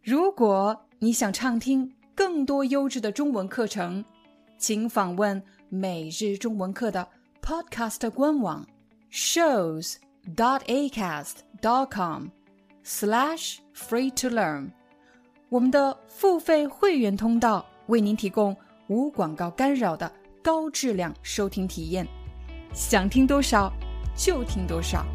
如果你想畅听更多优质的中文课程，请访问每日中文课的 Podcast 官网 shows.acast.com/free-to-learn。我们的付费会员通道为您提供无广告干扰的高质量收听体验，想听多少就听多少。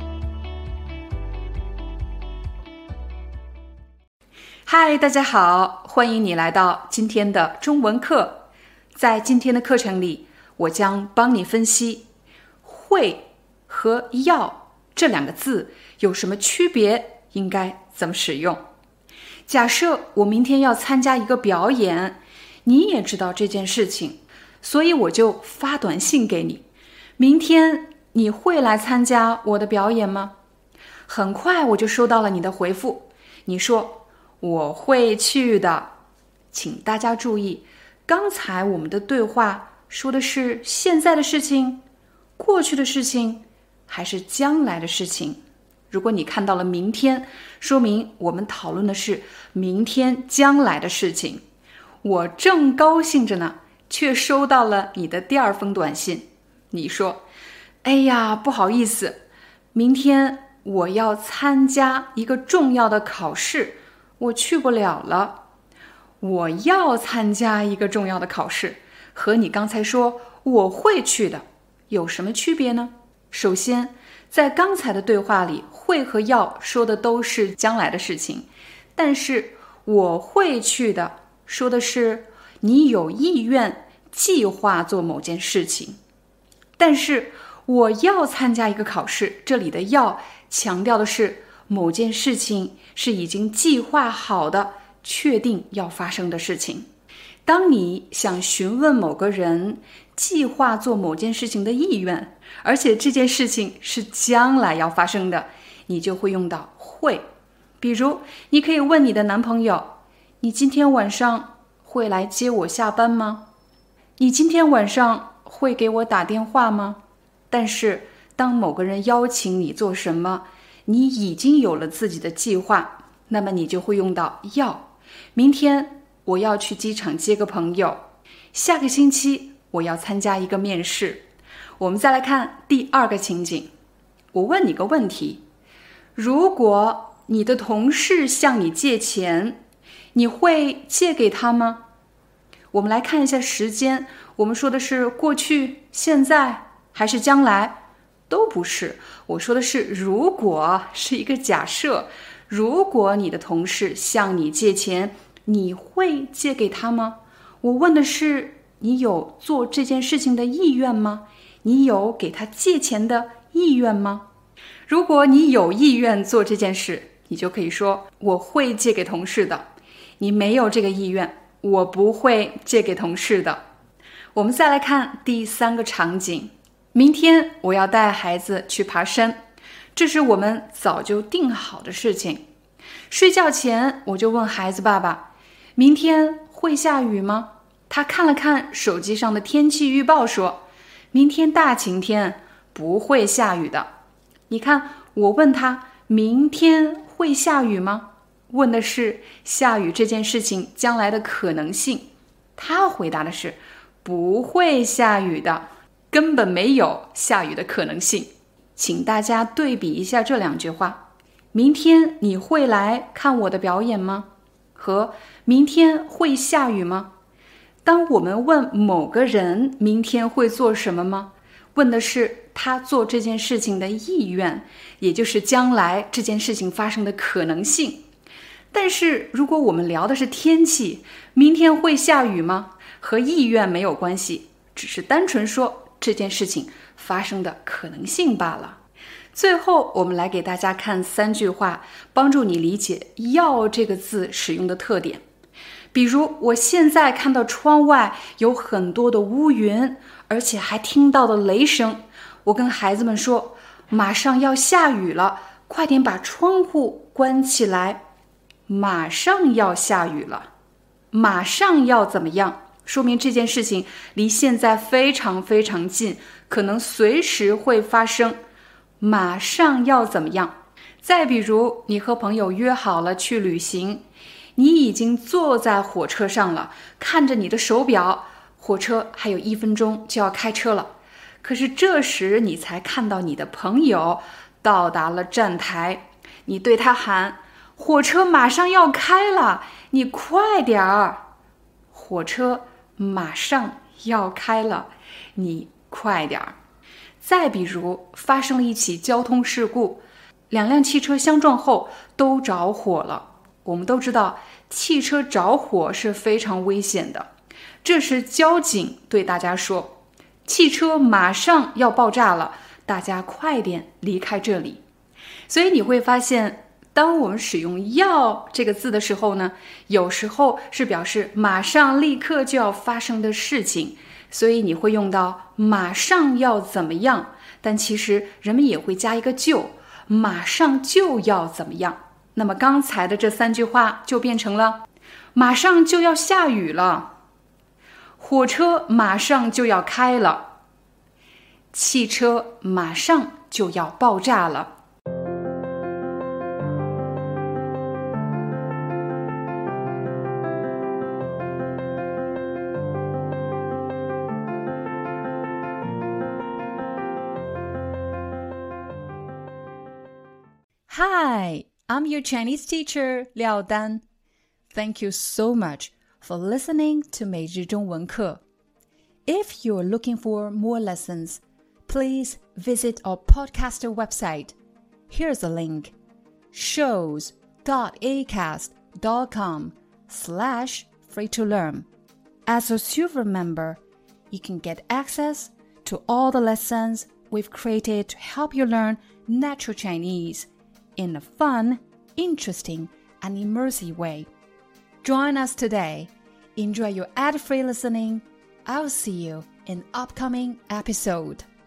嗨，大家好，欢迎你来到今天的中文课。在今天的课程里，我将帮你分析会和要这两个字有什么区别，应该怎么使用。假设我明天要参加一个表演，你也知道这件事情，所以我就发短信给你，明天你会来参加我的表演吗？很快我就收到了你的回复，你说我会去的。请大家注意，刚才我们的对话说的是现在的事情、过去的事情，还是将来的事情？如果你看到了明天，说明我们讨论的是明天将来的事情。我正高兴着呢，却收到了你的第二封短信。你说，哎呀，不好意思，明天我要参加一个重要的考试，我去不了了。我要参加一个重要的考试，和你刚才说我会去的有什么区别呢？首先，在刚才的对话里，会和要说的都是将来的事情，但是我会去的说的是你有意愿计划做某件事情。但是我要参加一个考试，这里的要强调的是某件事情是已经计划好的，确定要发生的事情。当你想询问某个人计划做某件事情的意愿，而且这件事情是将来要发生的，你就会用到会。比如，你可以问你的男朋友，你今天晚上会来接我下班吗？你今天晚上会给我打电话吗？但是，当某个人邀请你做什么，你已经有了自己的计划，那么你就会用到要。明天我要去机场接个朋友，下个星期我要参加一个面试。我们再来看第二个情景，我问你个问题，如果你的同事向你借钱，你会借给他吗？我们来看一下时间，我们说的是过去、现在还是将来？都不是，我说的是如果，是一个假设。如果你的同事向你借钱，你会借给他吗？我问的是你有做这件事情的意愿吗？你有给他借钱的意愿吗？如果你有意愿做这件事，你就可以说我会借给同事的。你没有这个意愿，我不会借给同事的。我们再来看第三个场景，明天我要带孩子去爬山，这是我们早就定好的事情。睡觉前我就问孩子爸爸，明天会下雨吗？他看了看手机上的天气预报，说明天大晴天，不会下雨的。你看，我问他明天会下雨吗？问的是下雨这件事情将来的可能性。他回答的是不会下雨的，根本没有下雨的可能性。请大家对比一下这两句话，明天你会来看我的表演吗？和明天会下雨吗？当我们问某个人明天会做什么吗？问的是他做这件事情的意愿，也就是将来这件事情发生的可能性。但是如果我们聊的是天气，明天会下雨吗？和意愿没有关系，只是单纯说这件事情发生的可能性罢了。最后，我们来给大家看3句话，帮助你理解要这个字使用的特点。比如，我现在看到窗外有很多的乌云，而且还听到了雷声。我跟孩子们说，马上要下雨了，快点把窗户关起来。马上要下雨了，马上要怎么样？说明这件事情离现在非常非常近，可能随时会发生。马上要怎么样？再比如，你和朋友约好了去旅行， 你已经坐在火车上了，看着你的手表，火车还有1分钟就要开车了。可是这时你才看到你的朋友到达了站台，你对他喊：火车马上要开了，你快点儿！火车马上要开了，你快点儿！再比如，发生了一起交通事故，2辆汽车相撞后都着火了。我们都知道，汽车着火是非常危险的。这时交警对大家说，汽车马上要爆炸了，大家快点离开这里。所以你会发现，当我们使用要这个字的时候呢，有时候是表示马上立刻就要发生的事情，所以你会用到马上要怎么样，但其实人们也会加一个就，马上就要怎么样。那么刚才的这3句话就变成了马上就要下雨了，火车马上就要开了，汽车马上就要爆炸了。Hi, I'm your Chinese teacher, Liao Dan. Thank you so much for listening to 每日中文课. If you're looking for more lessons, please visit our podcaster website. Here's a link: shows.acast.com/free-to-learn. As a silver member, you can get access to all the lessons we've created to help you learn natural Chinese in a fun, interesting, and immersive way. Join us today. Enjoy your ad-free listening. I'll see you in upcoming episode.